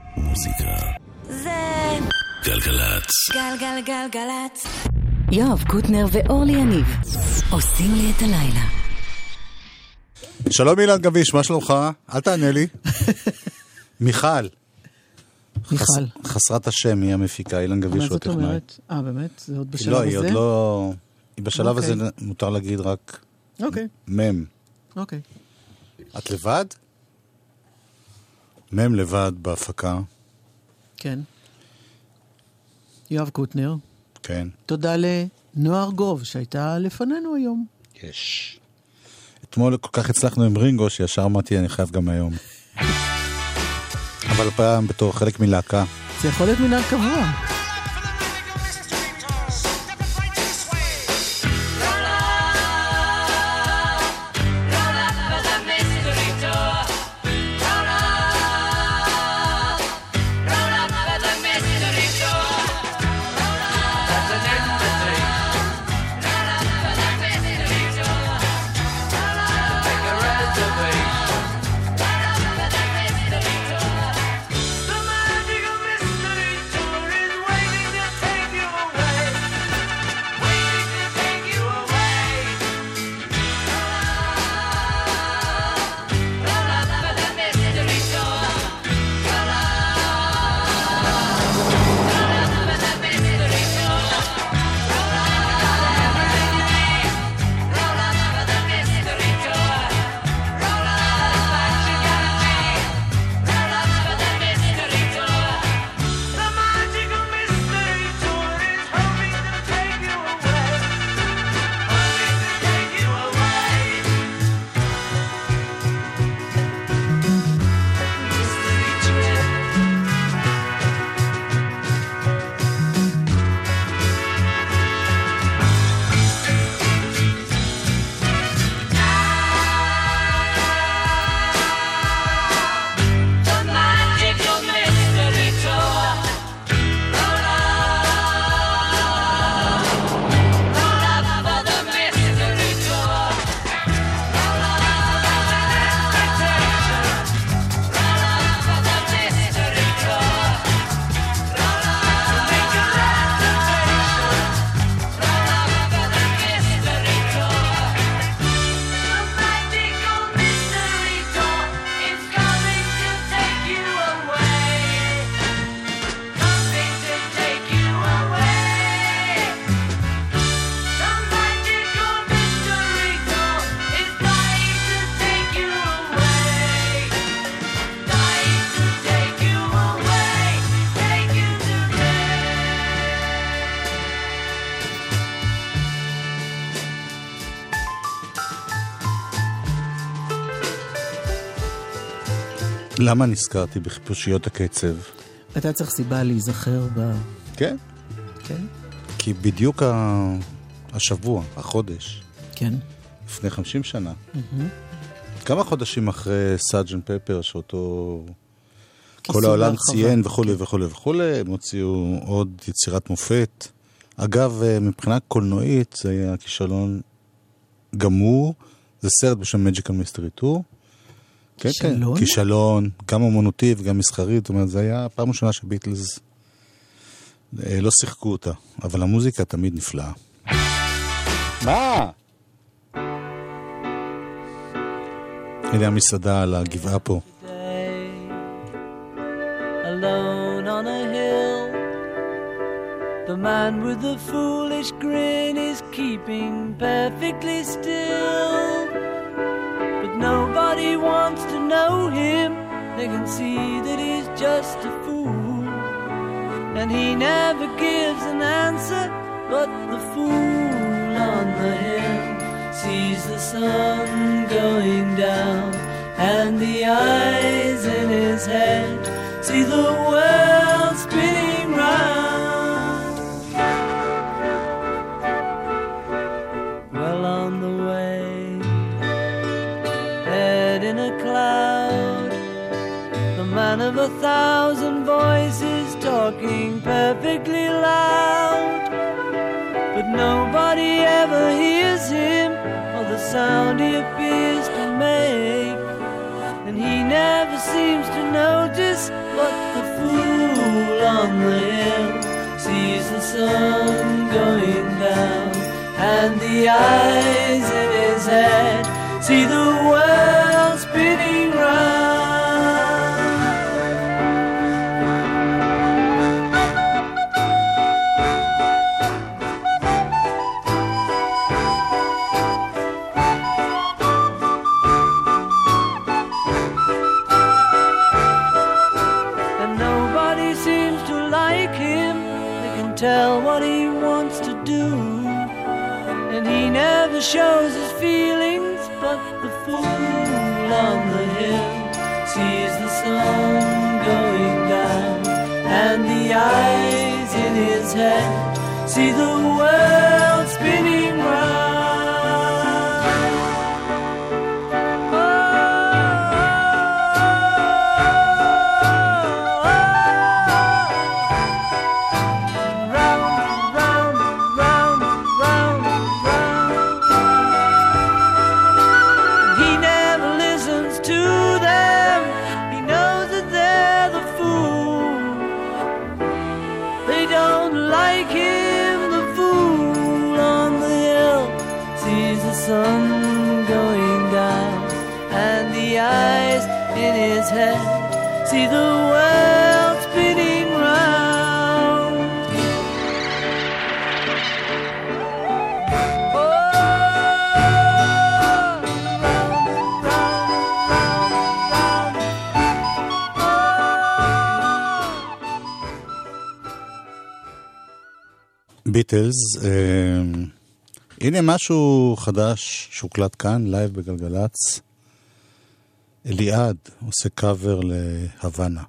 מוזיקה זה גלגלצ. גלגלגלגלצ. יואב קוטנר ואורלי יניב עושים לי את הלילה. שלום אילן גביש, מה שלומך? אל תענה לי. מיכל. חסרת השם, היא המפיקה, אילן גביש הוא הטכנאי. מה זאת אומרת? באמת? זה עוד בשלב לא, הזה? היא עוד לא... היא בשלב הזה מותר להגיד רק מם. אוקיי. את לבד? מם לבד בהפקה. כן. יואב קוטנר. כן. תודה לנועה ארגוב שהייתה לפנינו היום. יש. אתמול כל כך הצלחנו עם רינגו שישר אמרתי אני חייב גם היום. אבל פעם בתור חלק מלהקה. זה יכול להיות מנהג קבוע. למה נזכרתי בחיפושיות הקצב? אתה צריך סיבה להיזכר ב... כן. כן? כי בדיוק השבוע, החודש. כן. לפני 50 שנה. כמה חודשים אחרי סארג'נט פפר, שאותו כל העולם ציין וכו' וכו' וכו', הם הוציאו עוד יצירת מופת. אגב, מבחינה קולנועית, זה היה כישלון גמור. זה סרט בשם Magical Mystery Tour. כן, כן, כישלון, גם אמנותי וגם מסחרית, זאת אומרת, זה היה פעם ראשונה שביטלס לא שיחקו אותה, אבל המוזיקה תמיד נפלאה. מה? הנה המסעדה על הגבעה פה. Alone on a hill, the man with the foolish grin is keeping perfectly still. Nobody wants to know him. They can see that he's just a fool, and he never gives an answer. But the fool on the hill sees the sun going down, and the eyes in his head see the world spinning round. Well, on the way in a cloud, the man of 1,000 voices talking perfectly loud, but nobody ever hears him or the sound he appears to make, and he never seems to notice what the fool on the hill sees the sun going down, and the eyes in his head see the world spinning round. And nobody seems to like him. They can tell what he wants to do, and he never shows his feelings. But the fool on the hill sees the sun going down, and the eyes in his head see the world spinning round. Sun going down, and the eyes in his head see the world spinning round. Oh, round, round, round. ביטלס, הנה משהו חדש שהוקלט כאן, לייב בגלגלץ. אליעד עושה קאבר להוואנה.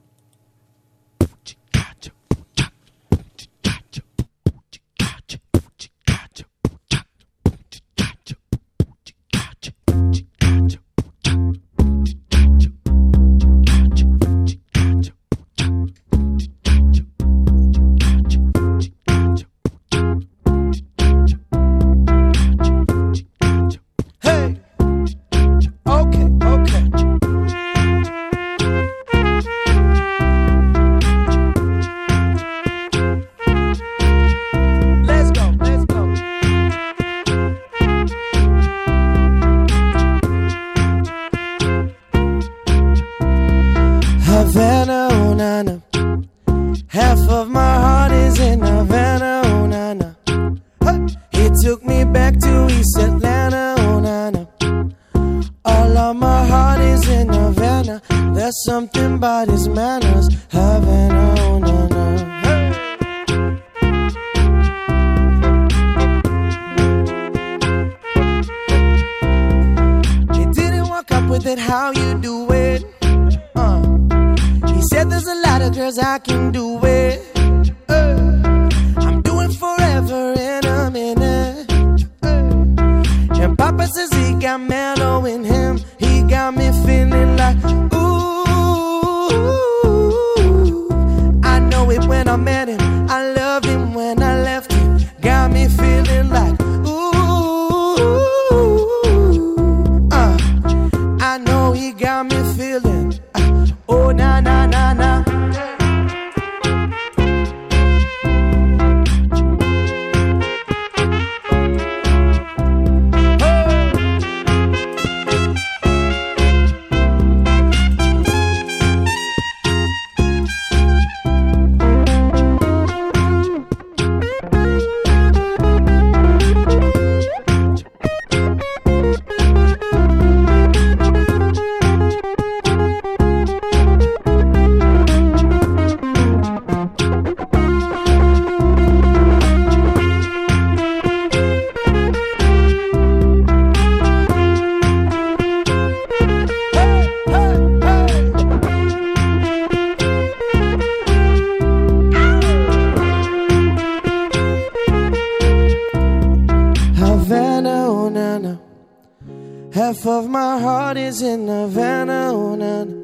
Half of my heart is in Havana, oh, na, na.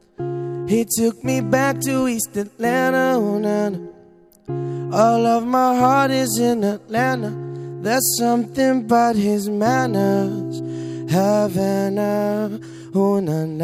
He took me back to East Atlanta, oh, na, na. All of my heart is in Atlanta. There's something about his manners. Havana, oh, na, na. 'Cause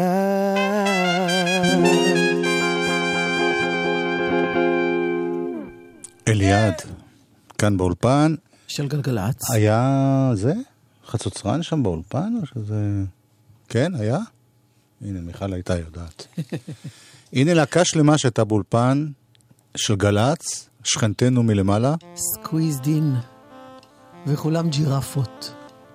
אליעד, כאן באולפן. של גלגלץ. היה זה? חצוצרן שם באולפן? או שזה... כן, היה? הנה, מיכל הייתה יודעת. הנה להקה שלמה שהייתה באולפן של גלץ, שכנתנו מלמעלה. סקוויזד אין. וכולם ג'ירפות.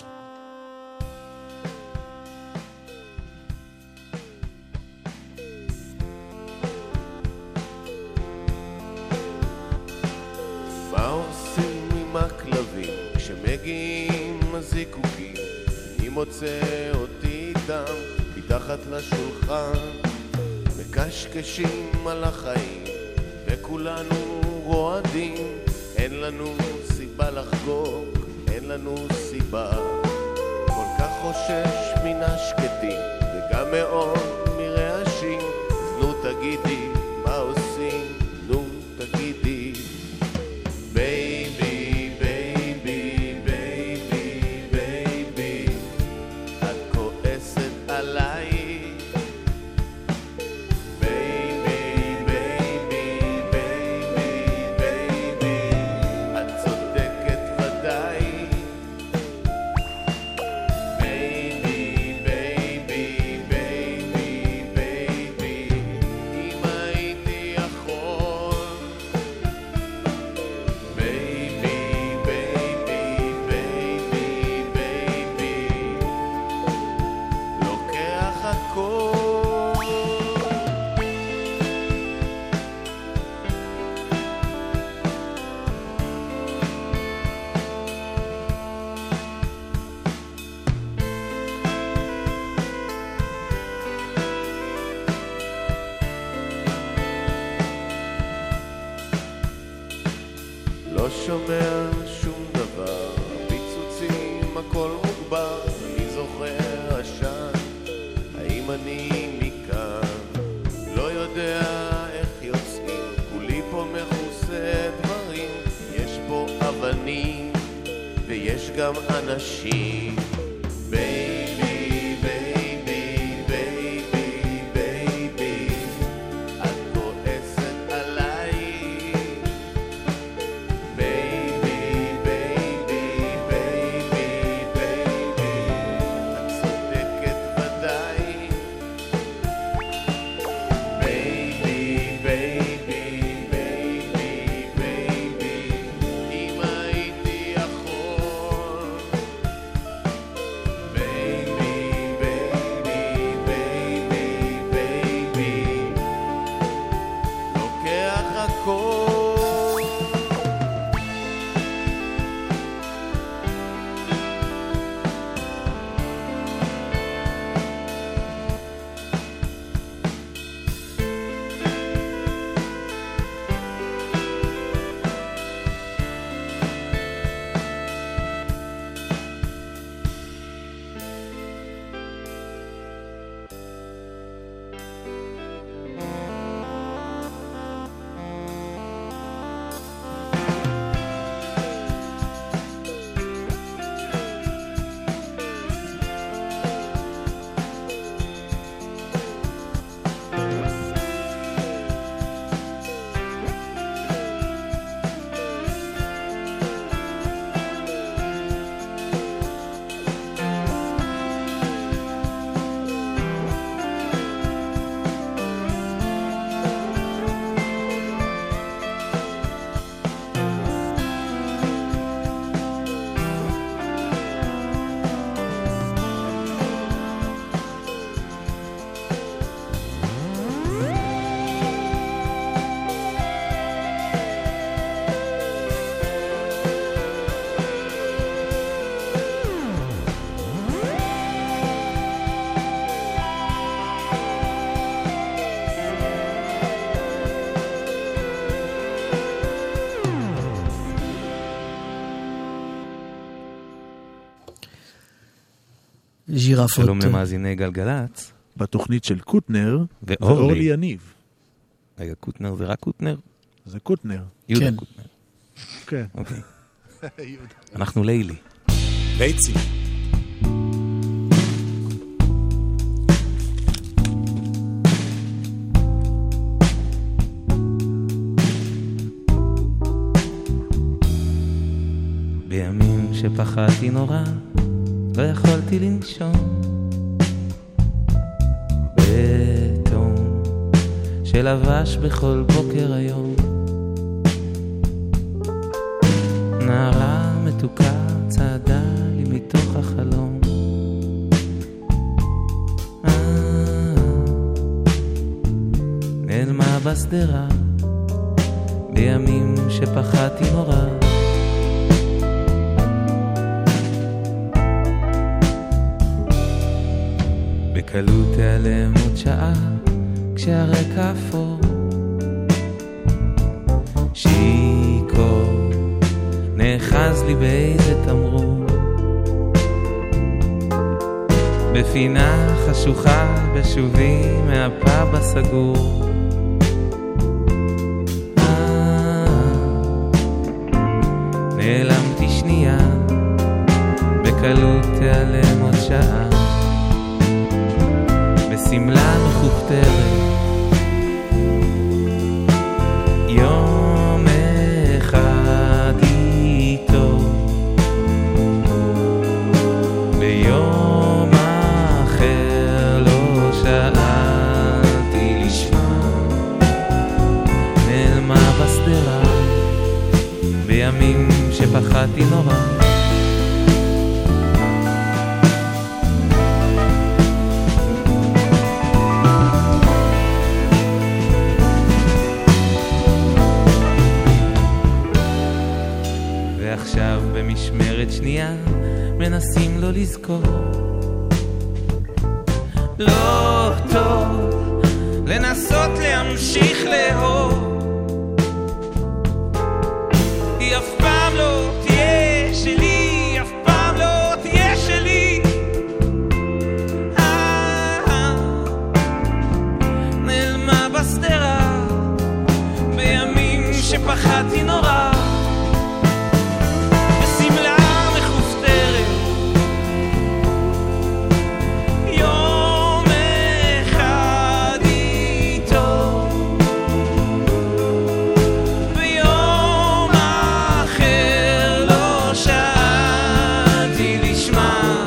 מה עושים עם הכלבים כשמגיעים הזיקוקים? אני מוצא אותי איתם מתחת לשולחן, מקשקשים על החיים וכולנו רועדים. אין לנו סיבה לחגוג, אין לנו סיבה. כל כך חושש מן השקטים וגם מאוד מרעשים. אז נו תגידי מה עושים, נו תגידי. בייבי, בייבי, בייבי, בייבי, את כועסת עליי. בייבי, בייבי, בייבי, בייבי, את צודקת ודאי. בייבי, בייבי, בייבי, בייבי, אם הייתי יכול. בייבי, בייבי, בייבי, בייבי, לוקח הכל. לא שומע שום דבר, פיצוצים הכל מוגבר. אני זוכר עשן, האם אני מכאן? לא יודע איך יוצאים, כולי פה מכוסה דברים. יש פה אבנים ויש גם אנשים. בייבי, בייבי, בייבי, בייבי, את כועסת עליי. בייבי, בייבי, בייבי, בייבי, את צודקת ודאי. בייבי, בייבי, בייבי, בייבי, אם הייתי יכול. בייבי, בייבי, בייבי, בייבי, לוקח הכל. ג'ירפות. שלום למאזיני גלגלץ. בתוכנית של קוטנר ואורלי. ואורלי יניב. רגע, קוטנר זה רק קוטנר? זה קוטנר. יהודה כן. קוטנר. כן. אוקיי. אנחנו לילי. לייצי. שפחדתי נורא, לא יכולתי לנשום. בתום שלבש בכל בוקר היום, נערה מתוקה צעדה לי מתוך החלום. נעלמה בסדרה בימים שפחדתי נורא. בקלות תיעלם עוד שעה כשהרקע אפור, שיקור נאחז לי באיזה תמרור, בפינה חשוכה בשובי מהפאב הסגור. נעלמתי שנייה, בקלות תיעלם עוד שעה, בסמלה מכופתרת. יום אחד איתו, ביום אחר לא שאלתי לשמה, נעלמה בסדרה בימים שפחדתי נורא. ועכשיו במשמרת שנייה מנסים לא לזכור. לא טוב לנסות להמשיך לאהוב, היא אף פעם לא תהיה שלי, אף פעם לא תהיה שלי. נעלמה בסדרה בימים שפחדתי נורא, בסמלה מכופתרת. יום אחד איתו, ביום אחר לא שאלתי לשמה,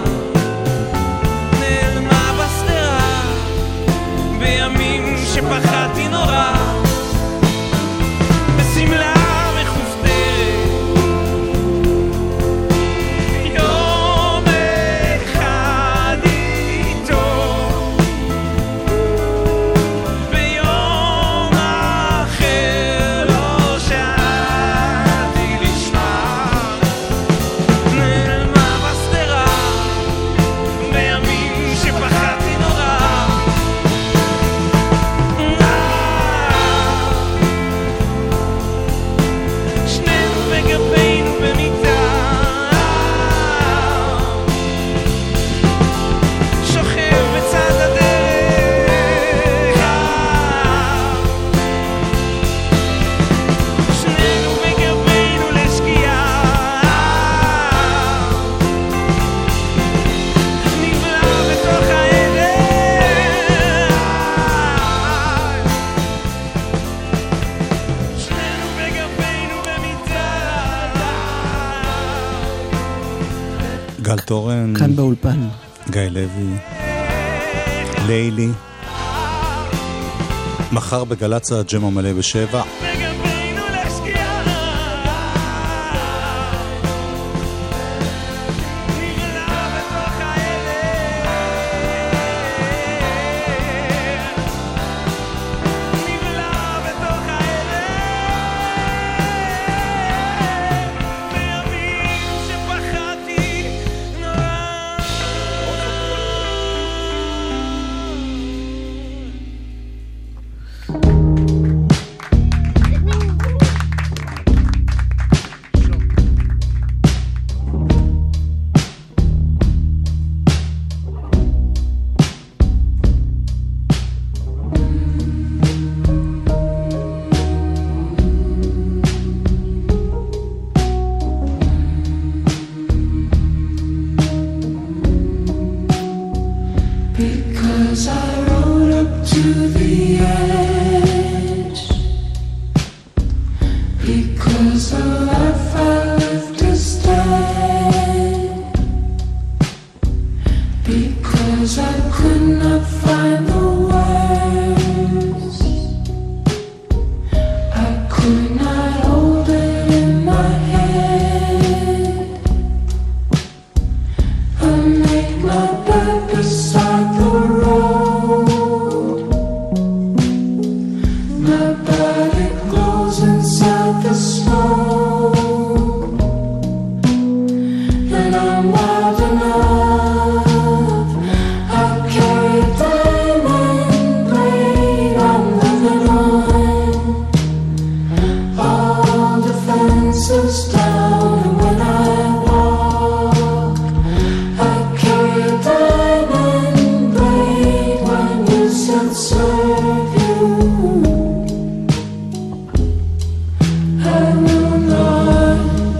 נעלמה בסדרה בימים שפחדתי נורא, בסמלה גל תורן, כאן באולפן, גיא לוי, לילי. מחר בגל"צ הג'ם המלא ב7. body glows inside the smoke, and I'm wild enough. I carry a diamond blade, I'm living on all defenses down, and when I walk, I carry a diamond blade. When you said serve you, I will not.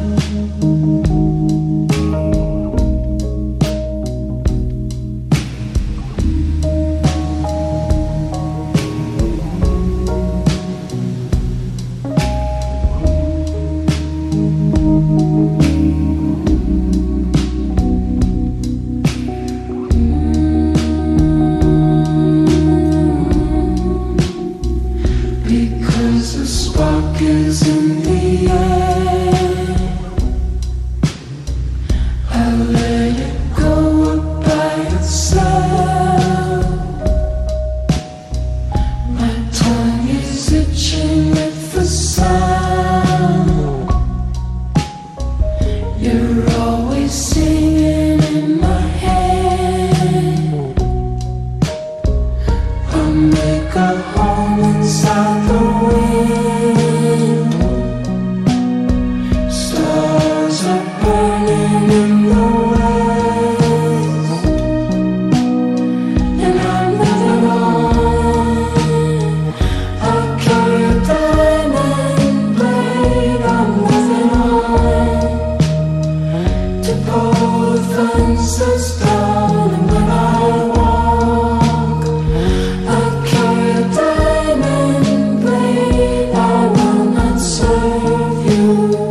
Because the spark is in the air, I let it go up by itself. My tongue is itching with the sound. You're always singing in my head. I'll make a home inside the wind. Stars are burning in the west, and I'm living on. I carry a diamond blade, I'm living on to pull the fences down, and when I walk, I carry a diamond blade. I will not serve you.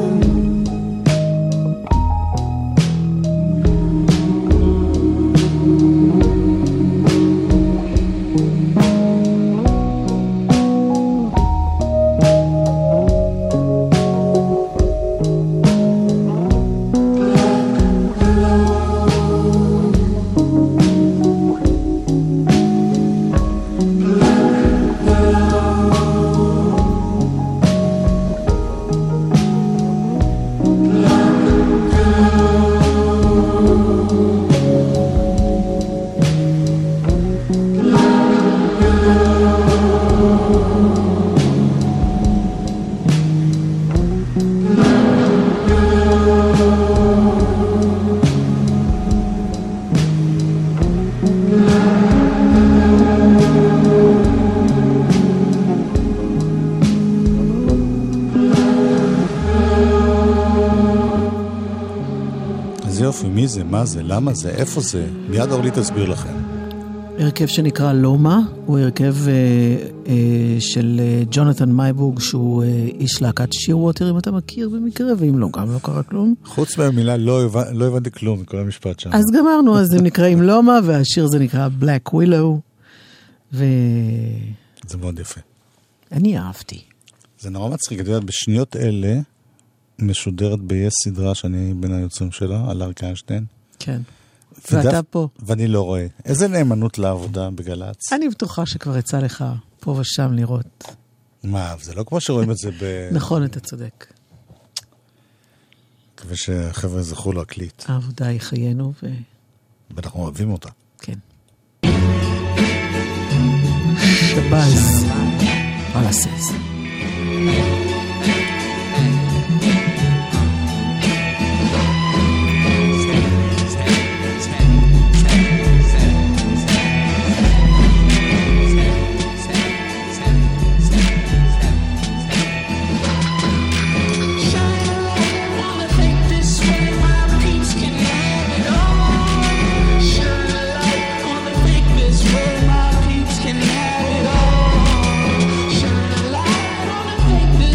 איזה יופי, מי זה, מה זה, למה זה, איפה זה? מיד אורלי תסביר לכם. הרכב שנקרא לומה, הוא הרכב של ג'ונתן מייבורג, שהוא איש להקת שיר ווטר, אם אתה מכיר במקרה, ואם לא, גם לא קרה כלום. חוץ מהמילה לא הבנתי כלום מכל המשפט שם. אז גמרנו, אז הם נקראים לומה, והשיר זה נקרא Black Willow, זה מאוד יפה. אני אהבתי. זה נורא מצחיק, את יודעת, בשניות אלה משודרת ביש סדרה שאני בין היוצרים שלה, על אריק איינשטיין. כן. ואתה פה. ואני לא רואה. איזה נאמנות לעבודה בגלץ. אני בטוחה שכבר יצא לך פה ושם לראות. מה, זה לא כמו שרואים את זה נכון, אתה צודק. מקווה שהחבר'ה זכו להקליט. העבודה היא חיינו ואנחנו אוהבים אותה. כן. שבאז. פלסס. This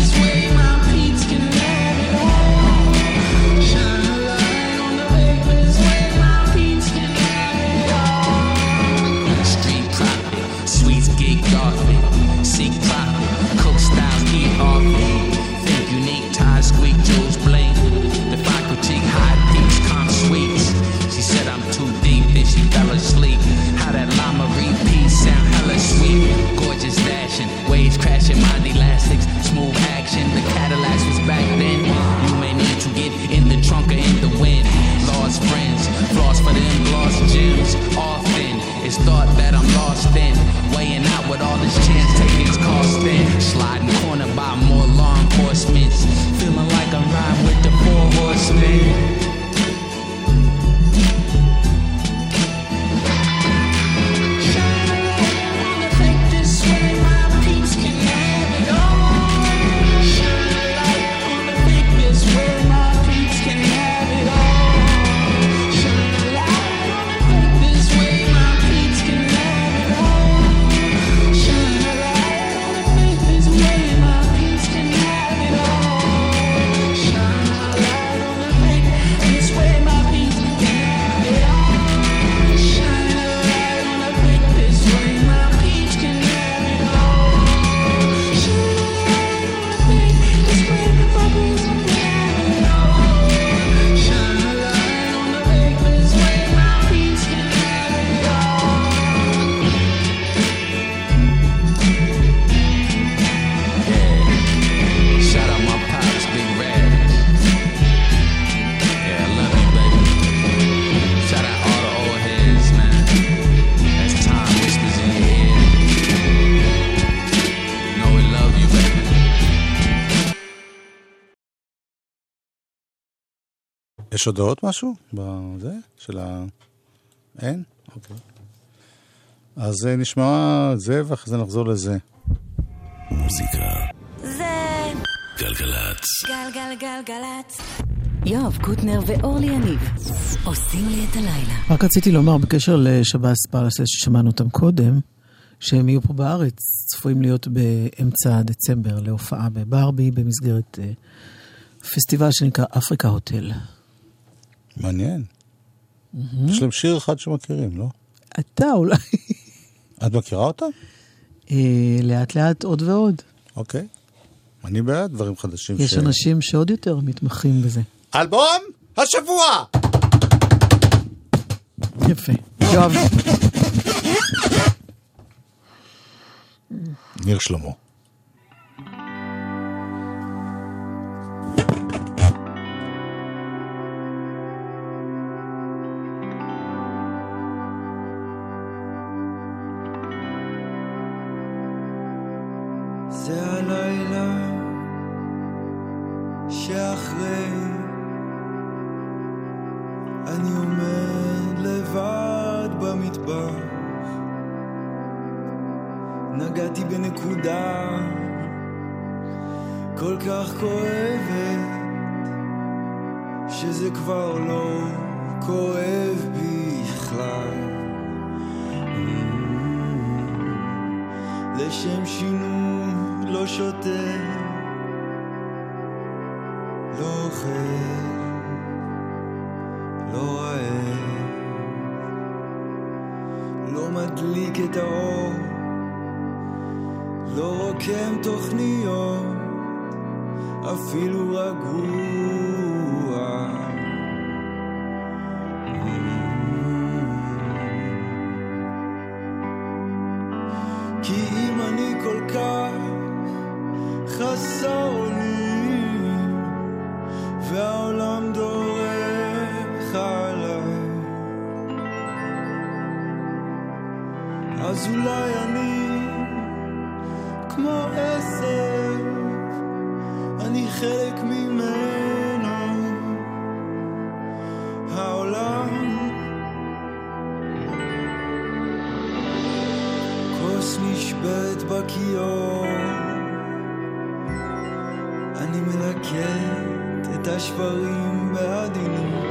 יש הודעות משהו בזה? של ה... אין? אוקיי. אז נשמע זה, ואחרי זה נחזור לזה. מוזיקה זה גלגלצ. גלגלגלגלצ. יואב קוטנר ואורלי יניב עושים לי את הלילה. רק רציתי לומר בקשר לשב"ס פלאסס ששמענו אותם קודם, שהם יהיו פה בארץ, צפויים להיות באמצע דצמבר להופעה בברבי במסגרת פסטיבל שנקרא אפריקה הוטל. מעניין. יש להם שיר אחד שמכירים, לא? אתה אולי. את מכירה אותה? לאט לאט עוד ועוד. אוקיי. אני בעד דברים חדשים. יש אנשים שעוד יותר מתמחים בזה. אלבום השבוע! יפה. יואב. ניר שלמה. זה הלילה שאחרי אני עומד לבד במטבח, נגעתי בנקודה כל כך כואבת שזה כבר לא כואב בכלל. לשם שינוי לא שותה, לא אוכל, לא רעב, לא מדליק את האור, לא רוקם תוכניות, אפילו רגוע. כי אם אני כל כך חסר אונים והעולם דורך עליי, אז אולי אני כמו עשב, אני חלק ממנו. העולם כוס נשברת בכיור, אני מלקט את השברים בעדינות,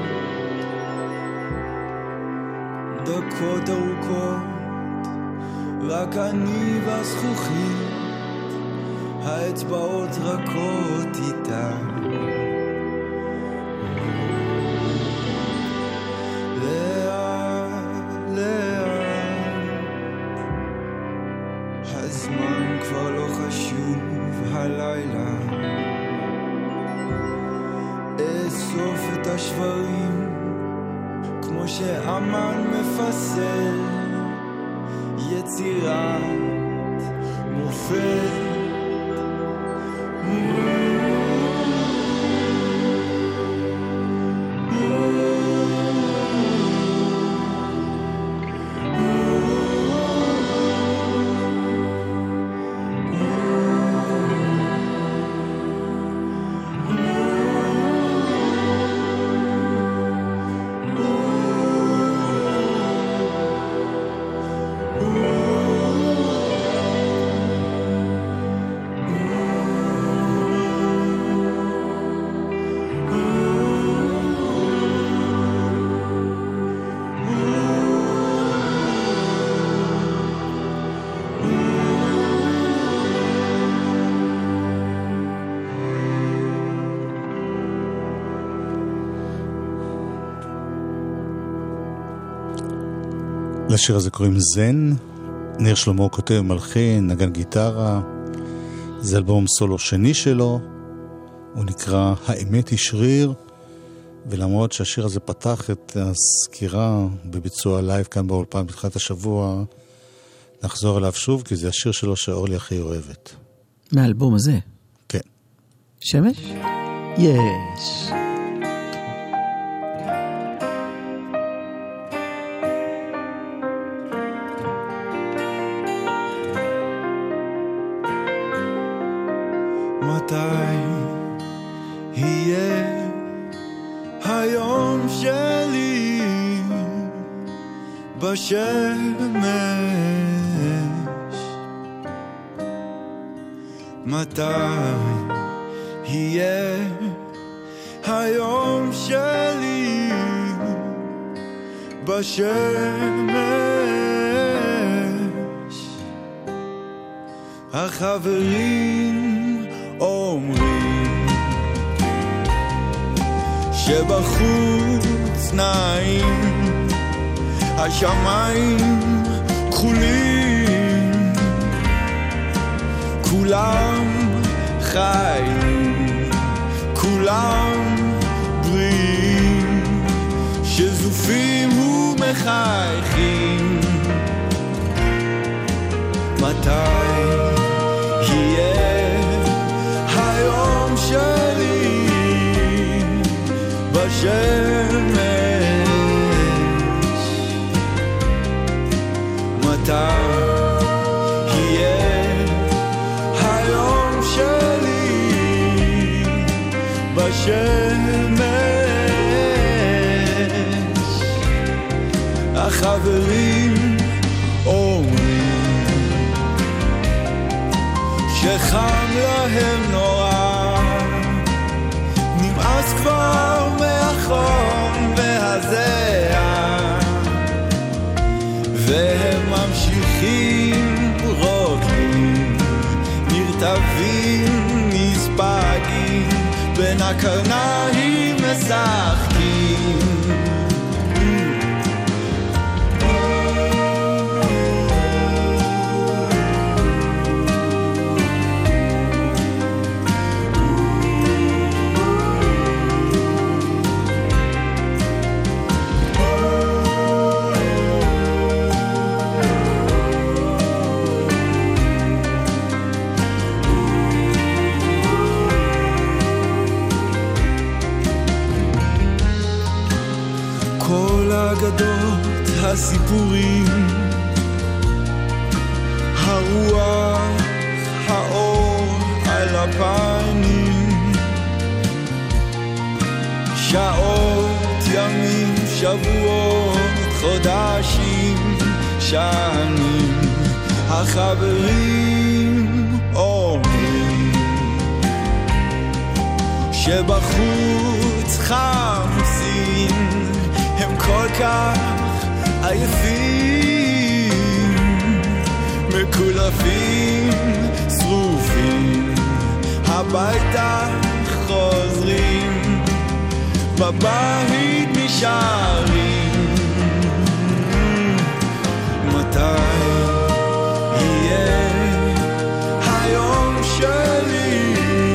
דקות ארוכות רק אני והזכוכית, האצבעות רכות איתה. לאט לאט הזמן כבר לא חשוב, הלילה אסוף את השברים כמו שאמן מפסל יצירת מופת. לשיר הזה קוראים זן, ניר שלמה כותב מלחין, נגן גיטרה, זה אלבום סולו שני שלו, הוא נקרא האמת היא שריר, ולמרות שהשיר הזה פתח את הסקירה בביצוע לייב כאן באולפן בתחילת השבוע, נחזור אליו שוב, כי זה השיר שלו שאורלי הכי אוהבת. מהאלבום הזה? כן. שמש? יש. מתי יהיה היום שלי בשמש, מתי יהיה היום שלי בשמש? החברים אומרים שבחוץ נעים, השמיים כחולים, כולם חיים, כולם בריאים, שזופים ומחייכים. מתי יהיה היום שלי בשמש? מתי יהיה היום שלי בשמש? החברים אומרים שחם להם נורא, נמאס כבר מהחום והזיעה, והם ממשיכים רוקדים, נרטבים נספגים, בין הקרניים משחקים. אגדות הסיפורים, הרוח, האור על הפנים, שעות, ימים, שבועות, חודשים, שנים. החברים אומרים שבחוץ חמסים, הם כל כך עייפים, מקולפים, שרופים, הביתה חוזרים, בבית נשארים. מתי יהיה היום שלי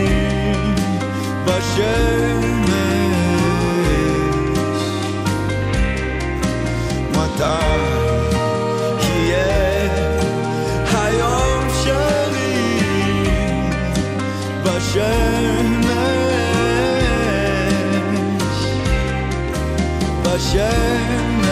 בשמש? מתי יהיה היום שלי בשמש? בשמש.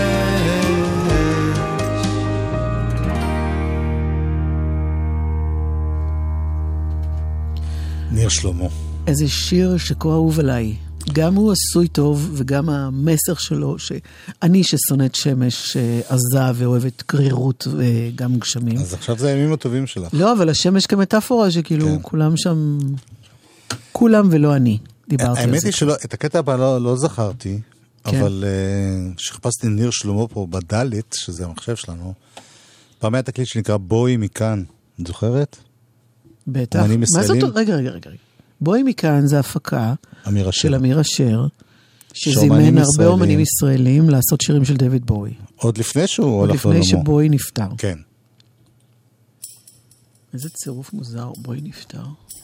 ניר שלמה. איזה שיר שכה אהוב עליי. גם הוא עשוי טוב, וגם המסר שלו, שאני ששונאת שמש, עזה ואוהבת קרירות וגם גשמים. אז עכשיו זה הימים הטובים שלך. לא, אבל השמש כמטאפורה, שכאילו כן. כולם שם, כולם ולא אני, דיברתי על זה. האמת היא שלא, את הקטע הבא לא זכרתי, כן. אבל שחפשתי ניר שלמה פה בדלת, שזה המחשב שלנו, פעם היה תקליט שנקרא בואי מכאן, את זוכרת? בטח. מה זאת? רגע. בואי מכאן זה הפקה של אמיר אשר, שזימן הרבה אומנים ישראלים לעשות שירים של דויד בואי. עוד לפני שהוא הולך לעולמו. עוד לפני שבואי נפטר. כן. איזה צירוף מוזר, בואי נפטר.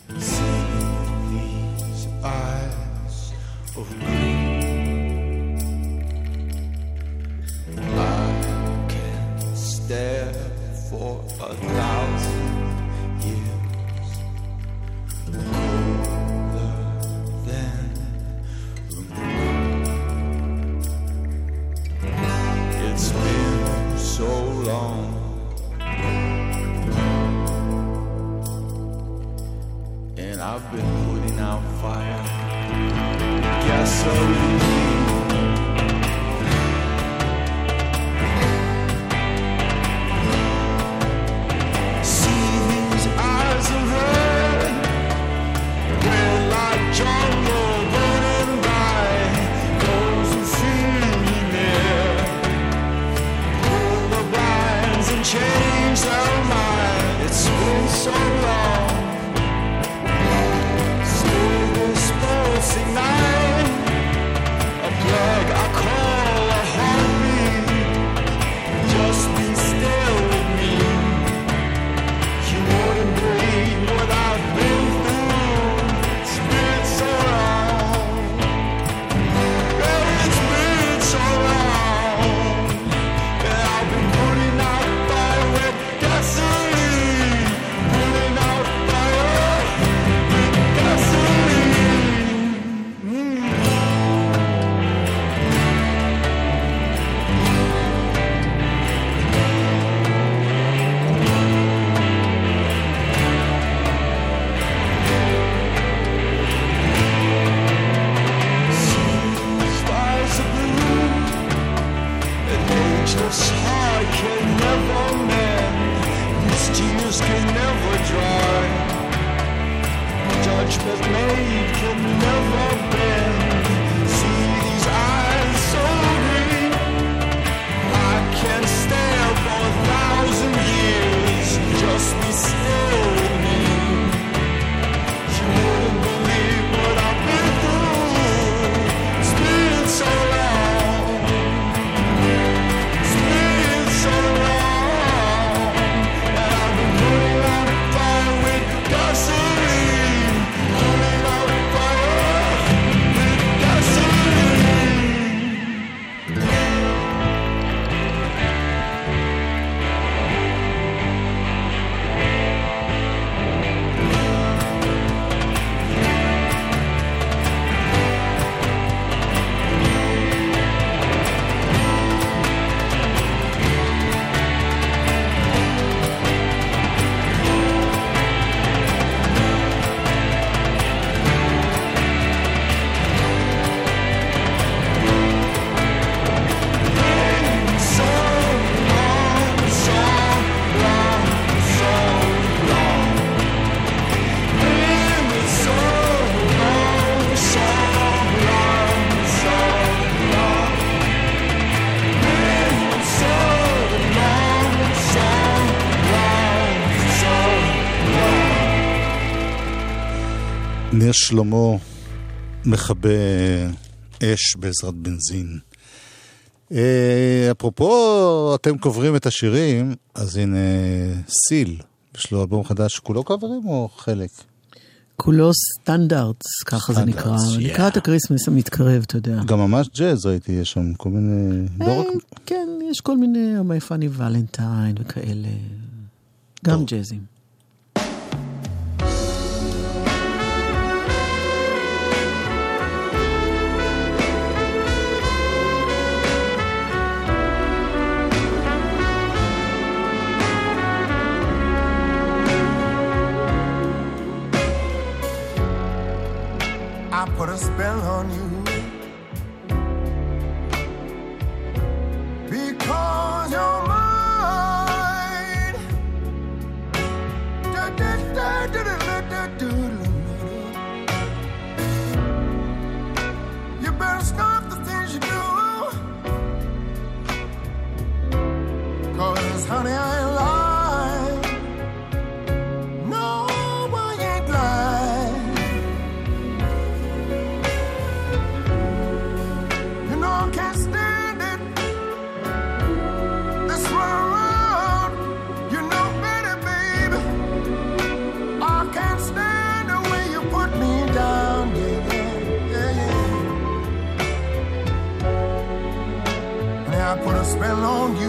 For 1,000 years, colder than the moon. It's been so long, and I've been putting out fire, gasoline. touch that made can never bend. See these eyes so green, I can stare for 1,000 years, just be still with me. You wouldn't believe what I've been through. It's been so long. It's been so long that I've been putting out fire with gasoline. Putting out fire with gasoline. ניר שלמה מכבה אש בעזרת בנזין. אפרופו אתם קוברים את השירים, אז הנה סיל, יש לו אלבום חדש, כולו קוברים או חלק? כולו סטנדרטס, ככה זה נקרא. לקראת הקריסמס המתקרב, אתה יודע. גם ממש ג'אז ראיתי, יש שם כל מיני... כן, יש כל מיני, My Funny Valentine וכאלה. גם ג'אזים. I put a spell on you because you're mine. You better stop the things you do, 'cause honey, I ain't lying. No, I ain't lying. You know I can't stand it. This run around, you know better, baby. I can't stand the way you put me down, yeah, yeah, yeah. And I put a spell on you.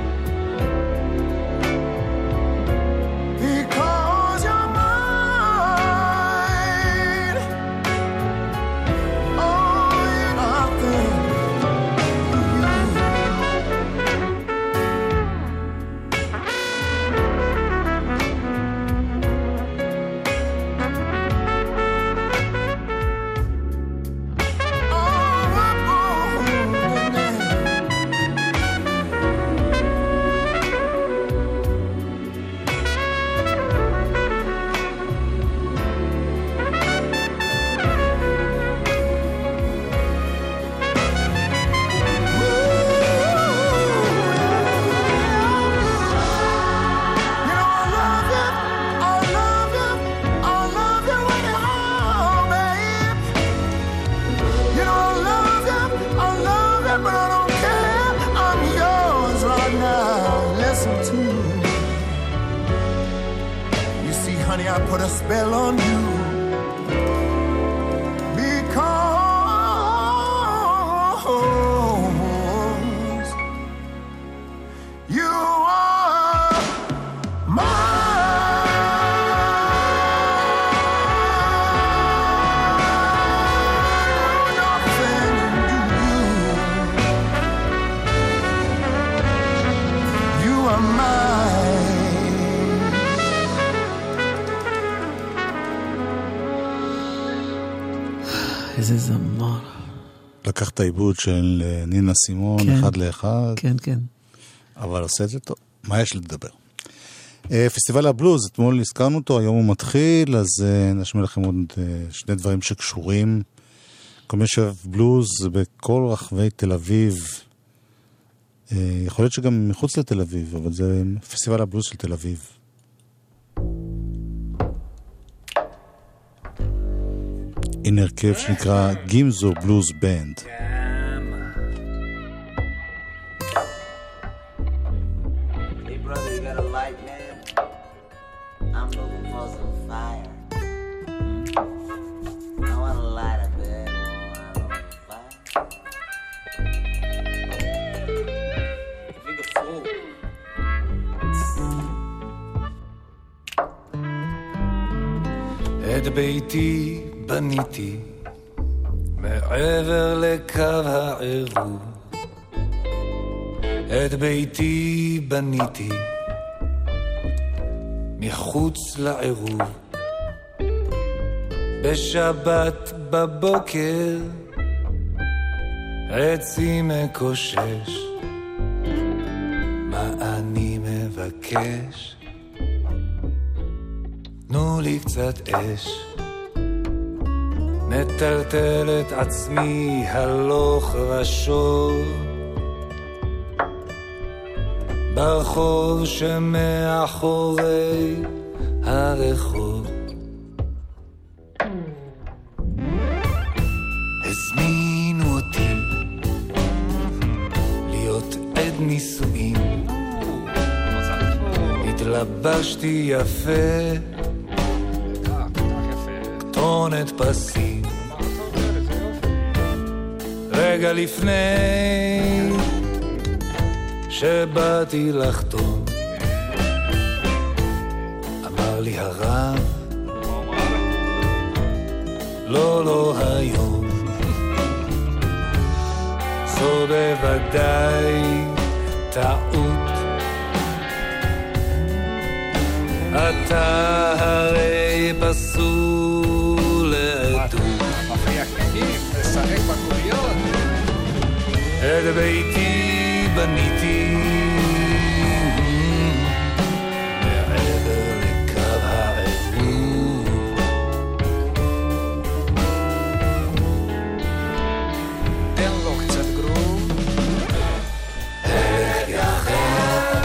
I put a spell on you because you are mine. You are mine. איזה זמר. לקח את העיבוד של נינה סימון, כן. 1 ל-1. כן, כן. אבל עושה את זה טוב. מה יש לדבר? פסטיבל הבלוז, אתמול הזכרנו אותו, היום הוא מתחיל, אז נשמיע לכם עוד שני דברים שקשורים. כל מי שאוהב בלוז בכל רחבי תל אביב, יכול להיות שגם מחוץ לתל אביב, אבל זה פסטיבל הבלוז של תל אביב. הנה הרכב שנקרא גימזו בלוז בנד. את ביתי בניתי מעבר לקו העירוב, את ביתי בניתי מחוץ לעירוב, בשבת בבוקר עצי מקושש, מה אני מבקש? תנו לי קצת אש, נטלטל את עצמי הלוך ושוב ברחוב שמאחורי הרחוב. הזמינו אותי להיות עד נישואין, התלבשתי יפה, כתונת פסים, רגע לפני שבאתי לחתום אמר לי הרב לא, לא היום, זו בוודאי טעות, אתה הרי פסול לעדות, לשחק בקוריות. את ביתי בניתי מעבר לקו העירוב, תן לו קצת גרוב, הלך יחד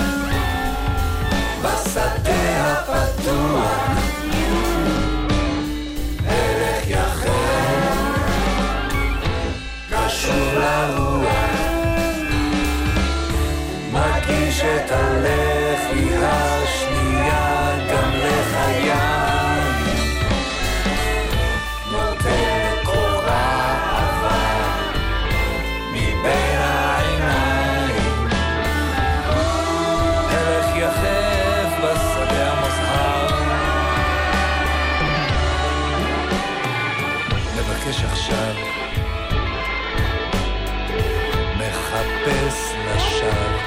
בשדה הפתוח, הלך יחד קשור לרוח, מגיש את הלחי השנייה גם לחיים, נותן קורה אהבה מבין העיניים, הלך יחף בשדה המוזהר, מבקש עכשיו, מחפש לשווא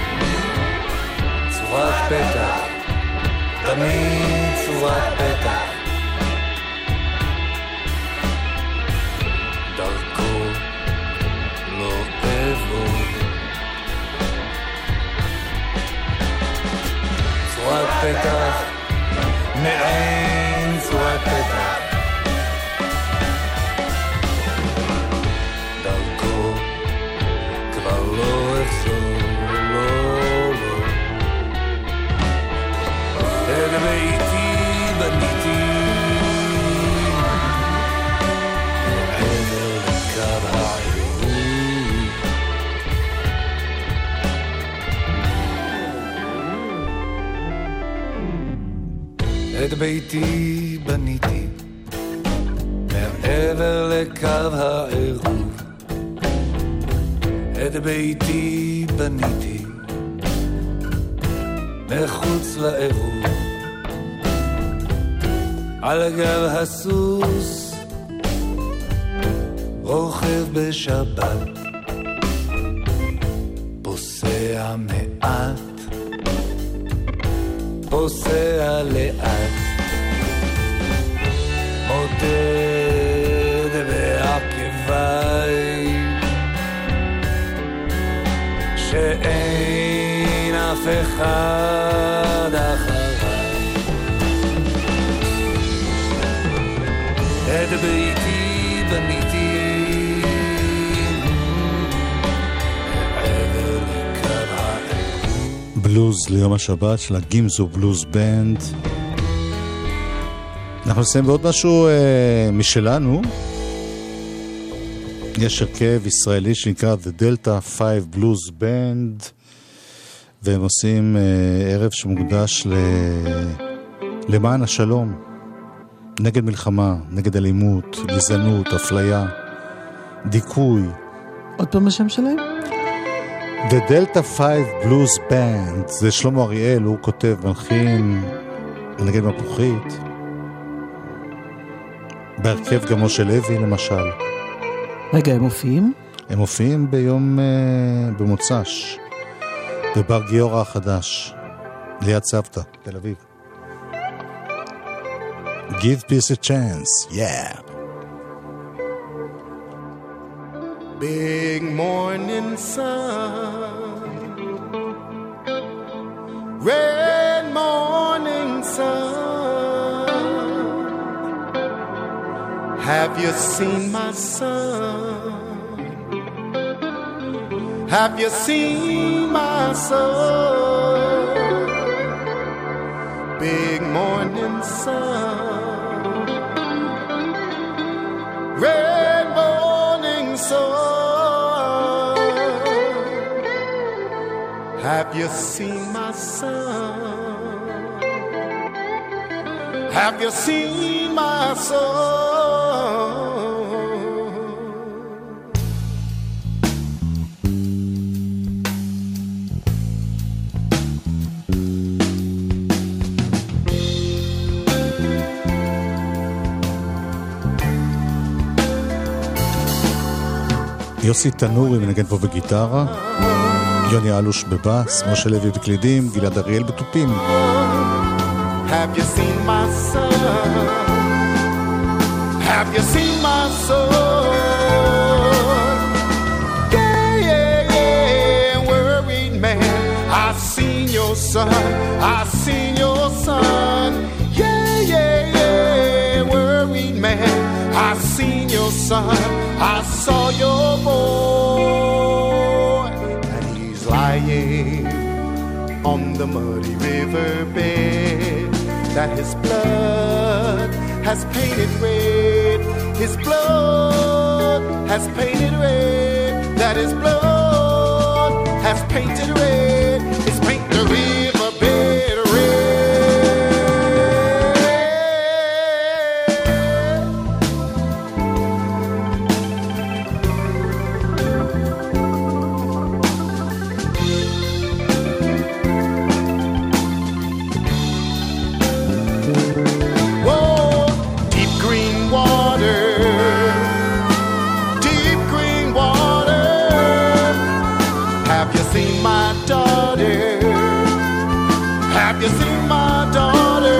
צורת פתח, תמיד צורת פתח, דרכו לא אבוא, צורת פתח, מעין צורת פתח, דרכו כבר לא אחזור, לא, לא. את ביתי בניתי מעבר לקו העירוב, את ביתי בניתי מעבר לקו העירוב, את ביתי בניתי מחוץ לעירוב, על גב הסוס רוכב בשבת, פוסע מעט, פוסע לאט, מודד בעקביי שאין אף אחד אחר, את ביתי בניתי מעבר לקו האל. בלוז ליום השבת של הגימזו בלוז בנד. אנחנו נסיים בעוד משהו משלנו. יש הרכב ישראלי שנקרא The Delta 5 Blues Band, והם עושים ערב שמוקדש למען השלום, נגד מלחמה, נגד אלימות, גזענות, אפליה, דיכוי. עוד פעם השם שלהם? The Delta 5 Blues Band, זה שלמה אריאל, הוא כותב, מלחין, נגד מפוחית. בהרכב גם משה לוי למשל. רגע, הם מופיעים? הם מופיעים ביום במוצ"ש בבר גיורא החדש ליד סבתא, תל אביב. Give peace a chance, yeah. Big morning sun, red morning sun. Have you seen my son? Have you seen my son? Big morning sun, red morning sun. Have you seen my son? Have you seen my son? יוסי תנורי מנגן פה בגיטרה, יוני אלוש בבאס, משה לוי בקלידים, גלעד אריאל בטופים. Have you seen my son? Have you seen my son? Yeah, yeah, yeah, worried man. I seen your son. I seen your son. Yeah, yeah, yeah, worried man. I seen your son. I saw your boy, and he's lying on the muddy riverbed that his blood has painted red. His blood has painted red. That his blood has painted red. It's paint the riverbed red. Have you seen my daughter?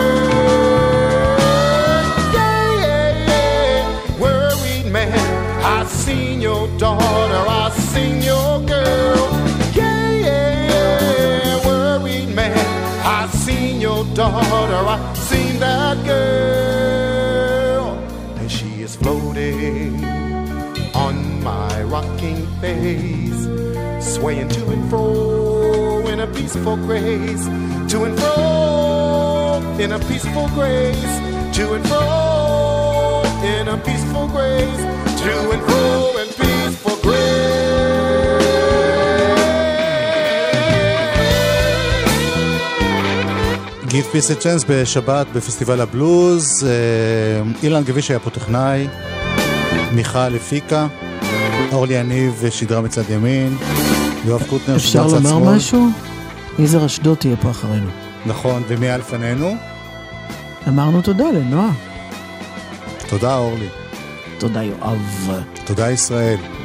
Yeah, yeah, yeah, worried man. I seen your daughter, I seen your girl. Yeah, yeah, yeah, worried man. I seen your daughter, I seen that girl. And she is floating on my rocking face, swaying to and fro in a peaceful grace, to and fro in a peaceful grace, to and fro in a peaceful grace, to and fro in peaceful grace. Give peace a chance בשבת בפסטיבל הבלוז. אילן גביש היה פה טכנאי, מיכל הפיקה, אורלי יניב שידרה מצד ימין, יואב קוטנר אפשר לומר משהו? יזהר אשדוד תהיה פה אחרינו. נכון, ומי היה לפנינו? אמרנו תודה לנועה. תודה אורלי. תודה יואב. תודה ישראל.